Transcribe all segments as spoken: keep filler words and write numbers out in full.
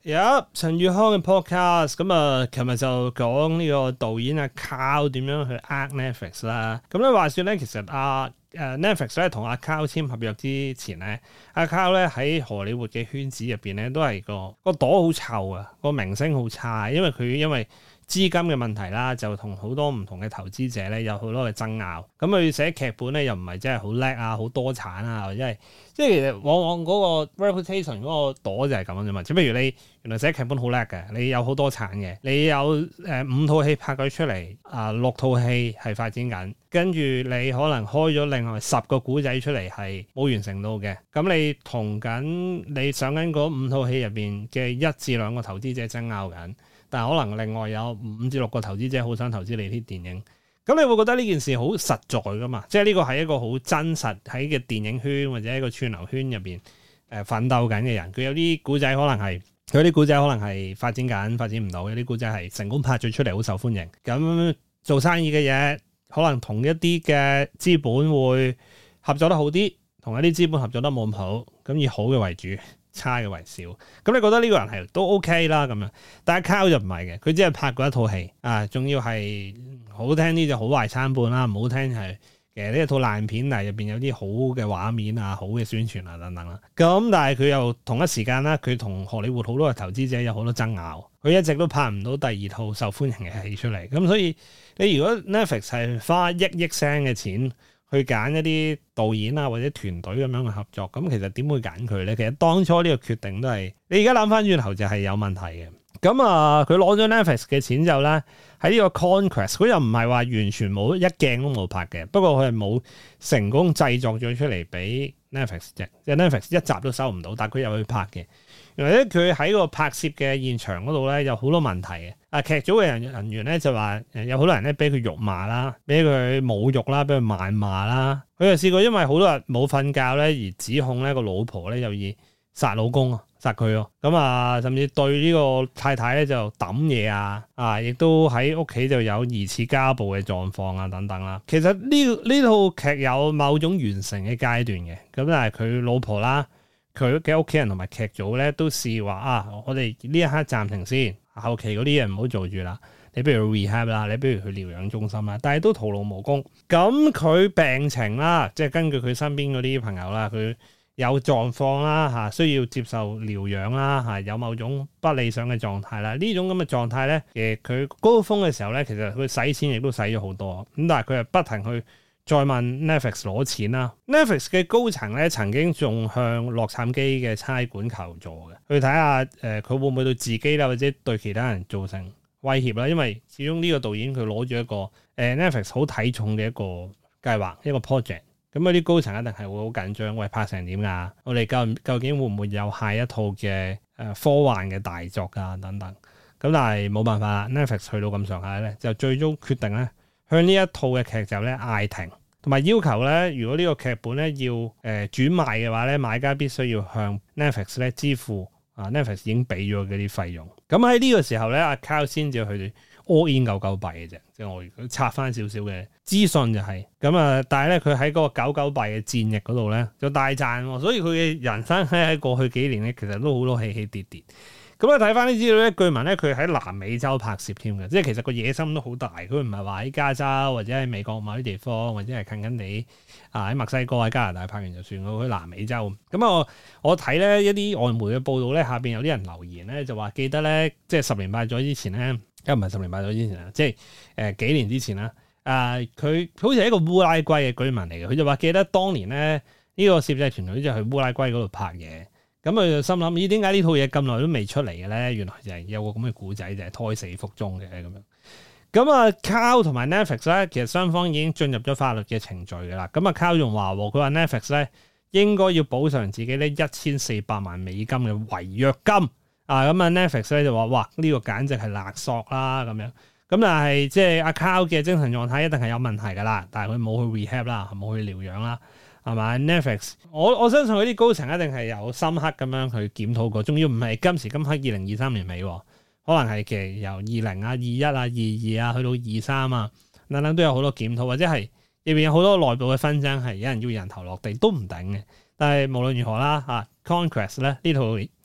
有陳宇康嘅 podcast，咁啊，琴日就講呢個導演阿 Carl 點樣去呃 Netflix 啦。咁咧話說咧，其實阿誒 Netflix 咧同阿 Carl 簽合約之前咧，阿 Carl 咧喺荷里活嘅圈子入邊咧都係個個朵好臭啊，個名聲好差，因為佢因為資金嘅問題啦，就同好多唔同嘅投資者咧有好多嘅爭拗。咁佢寫劇本咧又唔係真係好叻啊，好多產啊，或者係即係其實往往嗰個 reputation 嗰個朵就係咁樣啫嘛。即係譬如你原來寫劇本好叻嘅，你有好多產嘅，你有誒、呃、五套戲拍咗出嚟，啊、呃、六套戲係發展緊，跟住你可能開咗另外十個古仔出嚟係冇完成到嘅。咁你同緊你上緊嗰五套戲入邊嘅一至兩個投資者爭拗緊。但係可能另外有五至六個投資者好想投資你啲電影，咁你會覺得呢件事好實在噶嘛？即係呢個係一個好真實喺嘅電影圈或者一個串流圈入邊誒奮鬥緊嘅人，佢有啲古仔可能係佢啲古仔可能係發展緊發展唔到，有啲古仔係成功拍咗出嚟好受歡迎。咁做生意嘅嘢可能同一啲嘅資本會合作得好啲，同一啲資本合作得冇咁好，咁以好嘅為主，差嘅為少，咁你覺得呢個人係都 OK 啦咁樣，但係 Carl 就唔係嘅，佢只係拍過一套戲啊，仲要係好聽啲就好壞參半啦，唔好聽係其實呢一套爛片，但係入邊有啲好嘅畫面啊、好嘅宣傳啊等等啦。咁但係佢又同一時間啦，佢同荷里活好多嘅投資者有好多爭拗，佢一直都拍唔到第二套受歡迎嘅戲出嚟。咁所以你如果 Netflix 係花億億聲嘅錢去揀一啲導演啊或者團隊咁樣去合作，咁其實點會揀佢咧？其實當初呢個決定都係你而家諗翻轉頭就係有問題嘅。咁啊，佢攞咗 Netflix 嘅錢之後咧，喺呢個 Conquest 佢又唔係話完全冇一鏡都冇拍嘅，不過佢係冇成功製作咗出嚟俾 Netflix 啫，即係 Netflix 一集都收唔到，但係佢又去拍嘅。原來咧佢喺個拍攝嘅現場嗰度咧有好多問題嘅。啊，劇組嘅人人員咧就話誒有好多人咧俾佢辱罵啦，俾佢侮辱啦，俾佢謾罵啦。佢就試過因為好多日冇瞓覺咧而指控咧個老婆咧有意殺老公啊，殺佢喎。咁啊，甚至對呢個太太咧就抌嘢啊，啊，亦都喺屋企就有疑似家暴嘅狀況啊等等啦。其實呢呢套劇有某種完成嘅階段嘅，咁但係佢老婆啦，佢嘅屋企人同埋劇組咧都試話啊，我哋呢一刻暫停先。後期嗰啲嘢唔好做住啦，你不如去 rehab 啦，你不如去療養中心啦，但係都徒勞無功。咁佢病情啦，即係根據佢身邊嗰啲朋友啦，佢有狀況啦嚇，需要接受療養啦嚇，有某種不理想嘅狀態啦。呢種咁嘅狀態咧，誒佢高峰嘅時候咧，其實佢使錢亦都使咗好多，咁但係佢係不停去再問 Netflix 攞錢啦。Netflix 嘅高層咧曾經仲向洛杉磯嘅差館求助嘅，去睇下誒佢會唔會對自己啦或者對其他人造成威脅啦。因為始終呢個導演佢攞住一個誒、呃、Netflix 好睇重嘅一個計劃一個 project，咁嗰啲高層一定係會好緊張，喂拍成點㗎？我哋究究竟會唔會有下一套嘅誒科幻嘅大作啊等等？咁但係冇辦法啦 ，Netflix 去到咁上下咧，就最終決定咧，向呢一套嘅劇集咧嗌停，同埋要求咧，如果呢個劇本咧要誒、呃、轉賣嘅話咧，買家必須要向 Netflix 咧支付啊 Netflix 已經俾咗嗰啲費用。咁喺呢個時候咧，阿 Carl 先至去 all in 九九幣嘅啫，即係我如果插翻少少嘅資訊就係咁啊。但係咧，佢喺嗰個九九幣嘅戰役嗰度咧就大賺喎，所以佢嘅人生喺喺過去幾年咧，其實都好多起起跌跌。咁咧睇翻啲資料咧，據聞咧佢喺南美洲拍攝添嘅，即係其實個野心都好大。佢唔係話喺加州或者喺美國某啲地方，或者係近近地啊喺墨西哥喺加拿大拍完就算，佢去南美洲。咁啊，我我睇咧一啲外媒嘅報道咧，下邊有啲人留言咧就話記得咧，即係十年八載之前咧，又唔係十年八載之前啦，即係誒、呃、幾年之前啦。啊、呃，佢好似係一個烏拉圭嘅居民嚟嘅，佢就話記得當年咧呢、呢個攝製團隊就去烏拉圭嗰度拍嘢。咁佢就心諗，咦？點解呢套嘢咁耐都未出嚟嘅咧？原來就係有個咁嘅故仔，就係、是、胎死腹中嘅咁樣。咁啊 Carl 同埋 Netflix 咧，其實雙方已經進入咗法律嘅程序㗎啦。咁啊 Carl 仲話，佢話 Netflix 咧應該要補償自己呢一千四百萬美金嘅違約金啊。咁啊 Netflix 咧就話，哇！呢、這個簡直係勒索啦咁樣。咁但係即係阿 Carl 嘅精神狀態一定係有問題㗎啦。但係佢冇去 rehab 啦，冇去療養啦。係嘛 Netflix？我我相信佢啲高層一定係有深刻咁樣去檢討過，仲要唔係今時今刻二零二三年尾，可能係其實由二零啊、二一啊、二二啊去到二三啊，等等都有好多檢討，或者係入邊有好多內部嘅紛爭，係有人要人頭落地都唔頂嘅。但係無論如何啦，啊 Conquest 咧呢套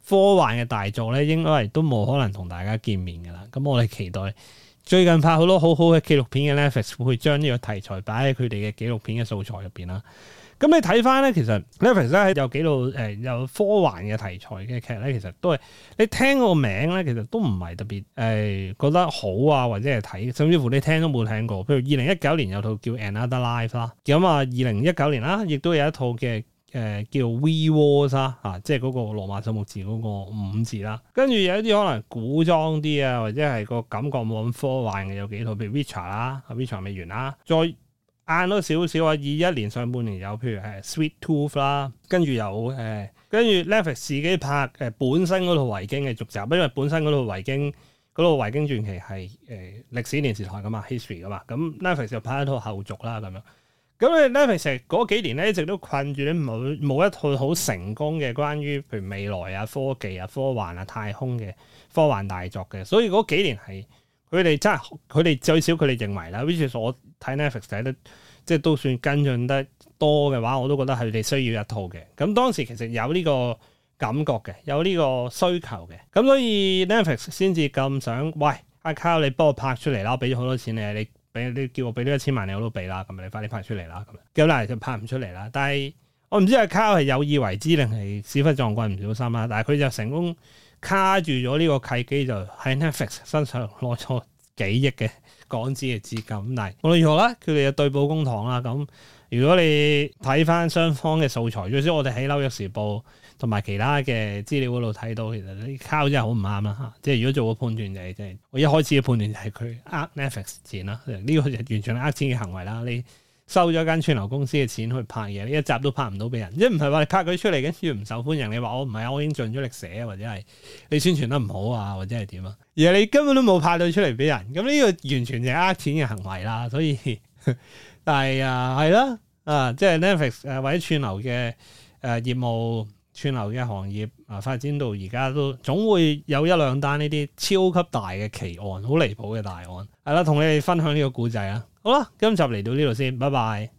科幻嘅大作咧，應該係都冇可能同大家見面噶啦。咁我哋期待最近拍好多好好嘅紀錄片嘅 Netflix 會將呢個題材擺喺佢哋嘅紀錄片嘅素材入邊啦。咁你睇翻咧，其實 Netflix 咧有幾套誒有科幻嘅題材嘅劇咧，其實都係你聽個名咧，其實都唔係特別誒、呃、覺得好啊，或者係睇，甚至乎你聽都冇聽過。譬如二零一九年有套叫 Another Life 啦，咁啊二零一九年啦，亦都有一套嘅誒、呃、叫 We Wars 啦，啊即係嗰個羅馬數目字嗰個五字啦。跟住有一啲可能古裝啲啊，或者係個感覺冇咁科幻嘅有幾套，譬如 Witcher 啦，Witcher 未完啦，再晏多少少啊！二一年上半年有，譬如係 Sweet Tooth 啦，跟住有誒，跟住 Netflix 自己拍誒、呃、本身嗰套維京嘅續集，因為本身嗰套維京嗰套維京傳奇係誒、呃、歷史電視台噶嘛 ，history 噶嘛，咁 Netflix 就拍一套後續啦咁樣。咁你 Netflix 嗰幾年咧一直都困住咧冇冇一套好成功嘅關於譬如未來啊、科技啊、科幻啊、太空嘅科幻大作嘅，所以嗰幾年係。佢哋真係，佢哋最少佢哋認為啦。which is 我睇 Netflix 睇得，即係都算跟進得多嘅話，我都覺得係佢哋需要一套嘅。咁當時其實有呢個感覺嘅，有呢個需求嘅。咁所以 Netflix 先至咁想，喂阿 Carl 你幫我拍出嚟啦，我俾咗好多錢你，你俾你叫我俾呢一千萬你我都俾啦，咁你快啲拍出嚟啦，咁樣。咁但係就拍唔出嚟啦。但係我唔知阿 Carl 係有意為之定係屎忽撞棍唔小心啦。但係佢就成功卡住咗呢個契機，就喺 Netflix 身上攞咗幾億嘅港紙嘅資金。但係無論如何啦，佢哋就對簿公堂啦。咁如果你睇翻雙方嘅素材，最少我哋喺紐約時報同埋其他嘅資料嗰度睇到，其實啲 Carl 真係好唔啱啦嚇。即係如果做個判斷就係，即係我一開始嘅判斷就係佢呃 Netflix 錢啦，呢、這個就完全係呃錢嘅行為啦。你收咗間串流公司嘅錢去拍嘢，呢一集都拍唔到俾人，即係唔係話你拍佢出嚟跟住唔受歡迎，你話我唔係啊，我已經盡咗力寫，或者係你宣傳得唔好啊，或者係點啊？而係你根本都冇拍到出嚟俾人，咁呢個完全就係呃錢嘅行為啦。所以，但係啊，係啦，啊，即係 Netflix 誒或者串流嘅誒業務，串流嘅行業啊發展到而家都總會有一兩單呢啲超級大嘅奇案，好離譜嘅大案，係啦，同你哋分享呢個故仔啊！好啦，今集嚟到呢度先，拜拜。